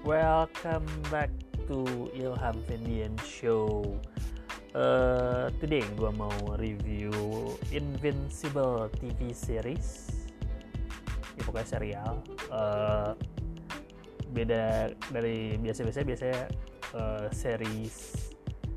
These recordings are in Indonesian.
Welcome back to Ilham Fendi Show. Today gue mau review Invincible TV series. Ya pokoknya serial. Beda dari biasanya series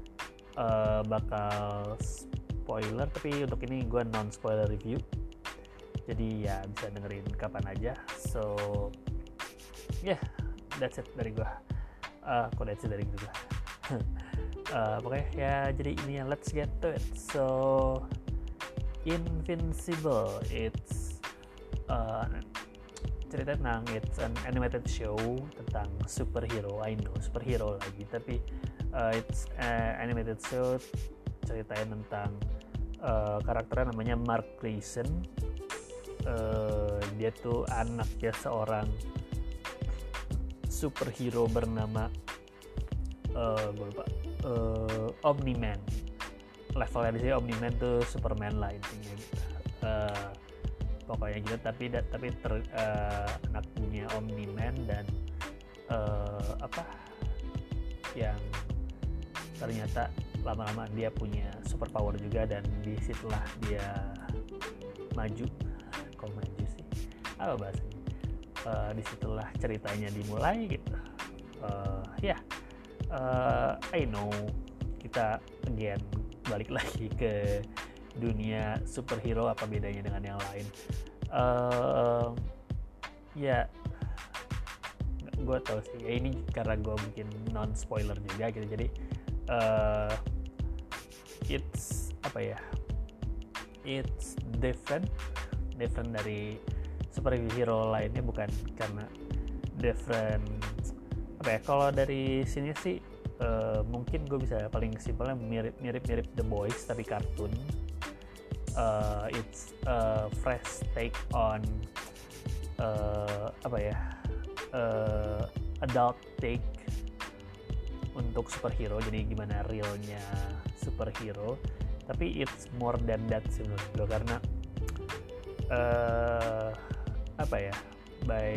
bakal spoiler, tapi untuk ini gue non spoiler review. Jadi ya bisa dengerin kapan aja. So yeah, that's it dari gue. That's it dari gue. Pokoknya ya jadi ini ya, let's get to it. So Invincible, it's cerita tentang, it's an animated show tentang superhero. I know superhero lagi, tapi it's animated show ceritain tentang karakternya namanya Mark Grayson. Dia tuh anaknya seorang superhero bernama gue lupa, Omni-Man. Levelnya di sini Omni-Man tuh Superman lah intinya gitu. Pokoknya gitu, tapi anaknya Omni-Man dan yang ternyata lama-lama dia punya superpower juga, dan disitulah dia maju. Kok maju sih? Apa bahasanya? Disitulah ceritanya dimulai gitu. I know kita again balik lagi ke dunia superhero, apa bedanya dengan yang lain? Gue tau sih ya, ini karena gue bikin non spoiler juga gitu, jadi it's different dari superhero lainnya, bukan karena different kalau dari sini sih mungkin gue bisa paling simpelnya mirip The Boys tapi kartun. It's a fresh take on adult take untuk superhero, jadi gimana realnya superhero, tapi it's more than that sih menurut gue, karena by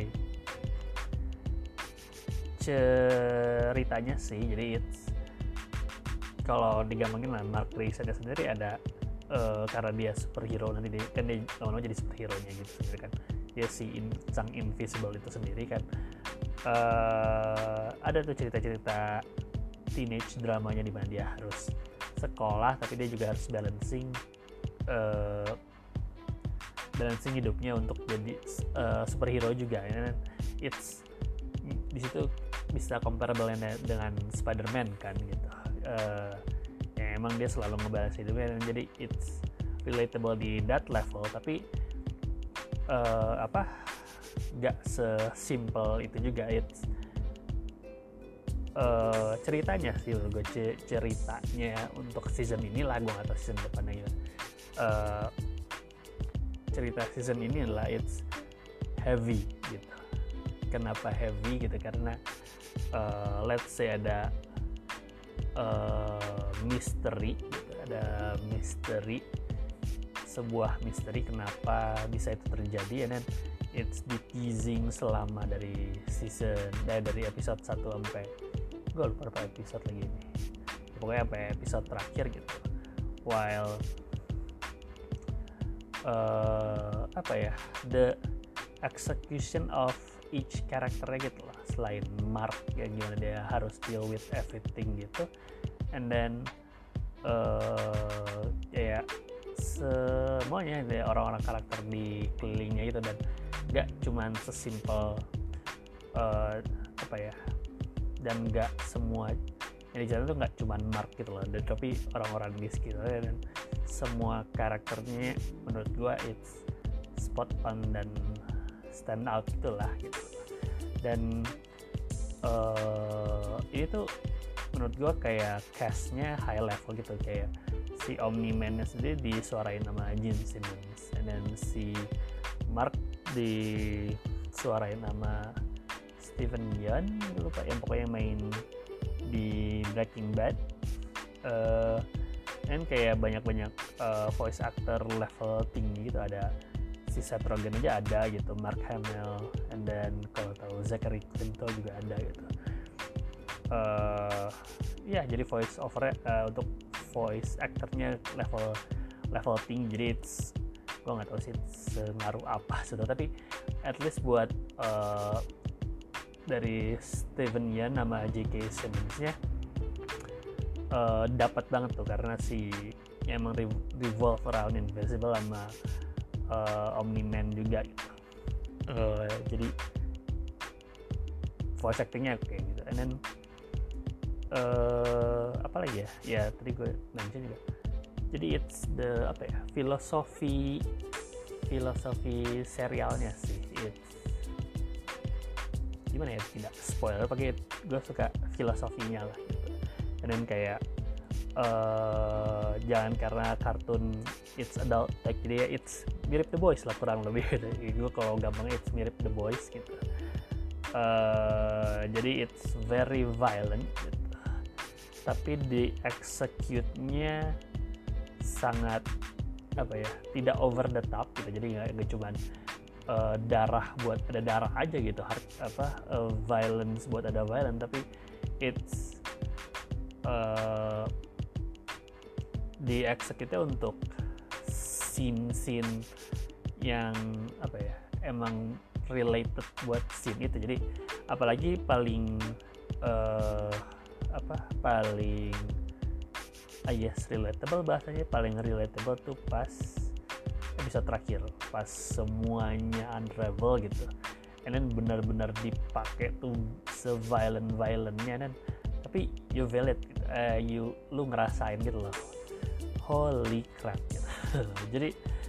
ceritanya sih, jadi it's, kalau digampangin lah, Mark Grayson sendiri ada karena dia superhero, nanti dia lama-lama jadi superhero-nya gitu sendiri kan, dia sang Invisible itu sendiri kan. Ada tuh cerita-cerita teenage dramanya di mana dia harus sekolah, tapi dia juga harus balancing hidupnya untuk jadi superhero juga. And it's di situ bisa comparable dengan Spider-Man kan gitu. Ya emang dia selalu ngebalance hidupnya, dan jadi it's relatable di that level, tapi gak sesimpel itu juga. It's ceritanya sih menurut gue, ceritanya untuk season ini lah, gue gak tau season depannya gitu. Cerita season ini adalah it's heavy gitu. Kenapa heavy gitu? Karena let's say ada misteri gitu. Ada sebuah misteri kenapa bisa itu terjadi, and then it's di teasing selama dari dari episode 1 sampai gue lupa berapa episode lagi ini, pokoknya sampai episode terakhir gitu. While the execution of each karakternya gitu lah, selain Mark yang gimana dia harus deal with everything gitu, and then semuanya ada orang-orang karakter di kelilingnya gitu, dan gak cuman sesimpel dan gak semua yang dijalan tuh gak cuman Mark gitu loh, dan tapi orang-orang di sekitarnya, dan semua karakternya menurut gue it's spot on dan stand out gitulah gitu. Dan ini tuh menurut gue kayak castnya high level gitu, kayak si Omni-Man sendiri disuarain sama Gene Simmons, dan si Mark disuarain sama Steven Yeun, lupa yang pokoknya main di Breaking Bad. Dan kayak banyak voice actor level tinggi gitu, ada si Seth Rogen aja ada gitu, Mark Hamill, and then kalau tahu Zachary Quinto juga ada gitu. ya jadi voice over untuk voice actornya level tinggi, jadi gue nggak tahu sih sengaruh apa sudah, tapi at least buat dari Steven Yeun nama J.K. Simmons-nya dapat banget tuh, karena si emang revolve around Invisible sama Omni-Man juga gitu. Jadi voice actingnya oke gitu. And then apa lagi ya tadi gue mention juga, jadi it's the filosofi serialnya sih, it's gimana ya, tidak spoiler, pakai gue suka filosofinya lah gitu. And then kayak jangan karena kartun it's adult like, jadi ya it's mirip The Boys lah kurang lebih gitu. Gue kalau gampang it's mirip The Boys gitu. Jadi it's very violent gitu, tapi di execute-nya sangat tidak over the top gitu. Jadi nggak cuman darah buat ada darah aja gitu, violence buat ada violence, tapi it's di execute-nya untuk scene yang emang related buat scene itu. Jadi apalagi paling relatable, bahasanya paling relatable tuh pas episode terakhir, pas semuanya unravel gitu, and then benar-benar dipakai tuh se-violent-violentnya, dan tapi you feel it gitu. Lu ngerasain gitu loh, holy crap gitu. Jadi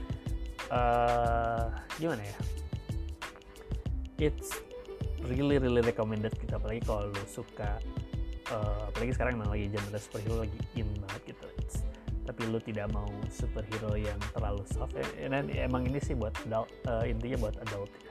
gimana ya, it's really recommended gitu, apalagi kalau lu suka apalagi sekarang emang lagi genre superhero lagi in banget gitu, tapi lu tidak mau superhero yang terlalu soft, dan emang ini sih buat adult, intinya buat adult ya.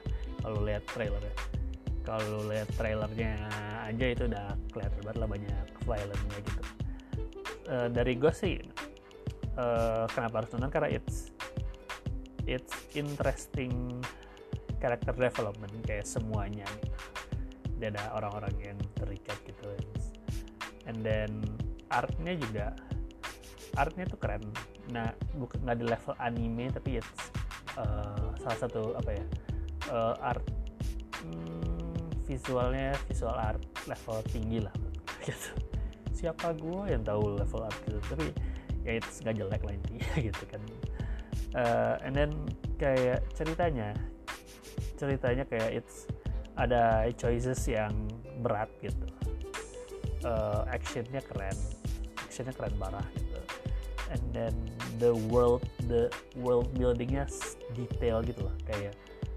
Kalau lihat trailernya aja itu udah kelihatan banget lah banyak violence-nya gitu. Dari gue sih kenapa harus nonton, karena it's interesting character development kayak semuanya gitu. Dia ada orang-orang yang terikat gitu, and then artnya tuh keren. Nah, bukan nggak di level anime, tapi it's salah satu art visual art level tinggi lah gitu. Siapa gue yang tahu level art gitu, tapi ya it's nggak jelek lah intinya gitu kan. And then kayak ceritanya kayak it's ada choices yang berat gitu. Actionnya keren parah gitu. And then the world buildingnya detail gitu loh, kayak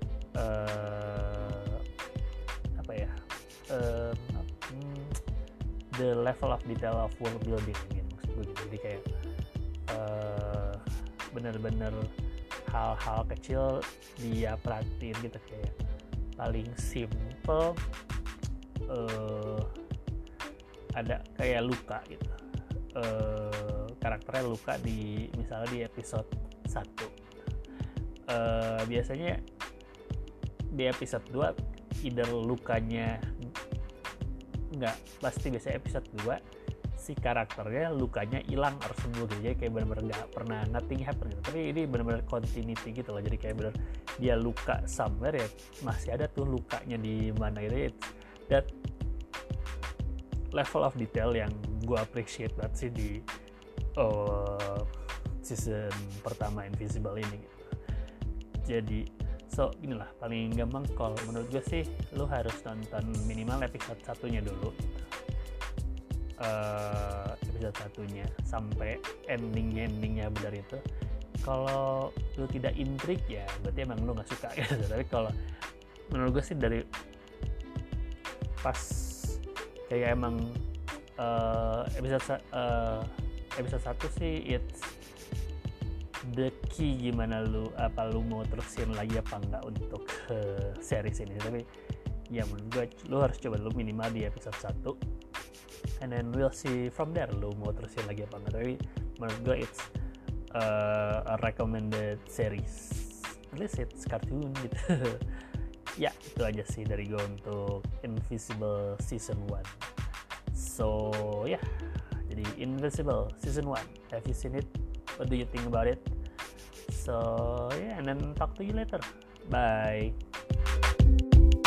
the level of detail of world building gitu, maksud gue gitu. Jadi kayak bener-bener hal-hal kecil dia perhatiin gitu, kayak paling simple ada kayak luka gitu, karakternya luka misalnya di episode 1, biasanya di episode 2 either lukanya nggak pasti, biasanya episode 2 si karakternya lukanya hilang atau sembuh gitu, jadi kayak benar-benar nggak pernah nothing happen gitu. Tapi ini benar-benar continuity gitu loh, jadi kayak benar dia luka somewhere ya masih ada tuh lukanya di mana gitu. That level of detail yang gue appreciate banget sih di season pertama Invisible ini gitu. Jadi inilah paling gampang kalau menurut gue sih, lu harus nonton minimal episode 1-nya dulu gitu. Episode 1-nya sampai endingnya benar itu. Kalau lu tidak intrik ya berarti emang lu nggak suka gitu. Tapi kalau menurut gue sih dari pas kayak emang episode 1 sih it's the key gimana lu mau terusin lagi apa enggak untuk series ini. Tapi ya menurut gue lu harus coba dulu minimal di episode 1, and then we'll see from there lu mau terusin lagi apa enggak. Tapi menurut gue it's a recommended series, at least it's cartoon gitu. Ya itu aja sih dari gue untuk Invisible season 1. So yeah, jadi Invincible season 1, have you seen it? What do you think about it? So yeah, and then talk to you later. Bye.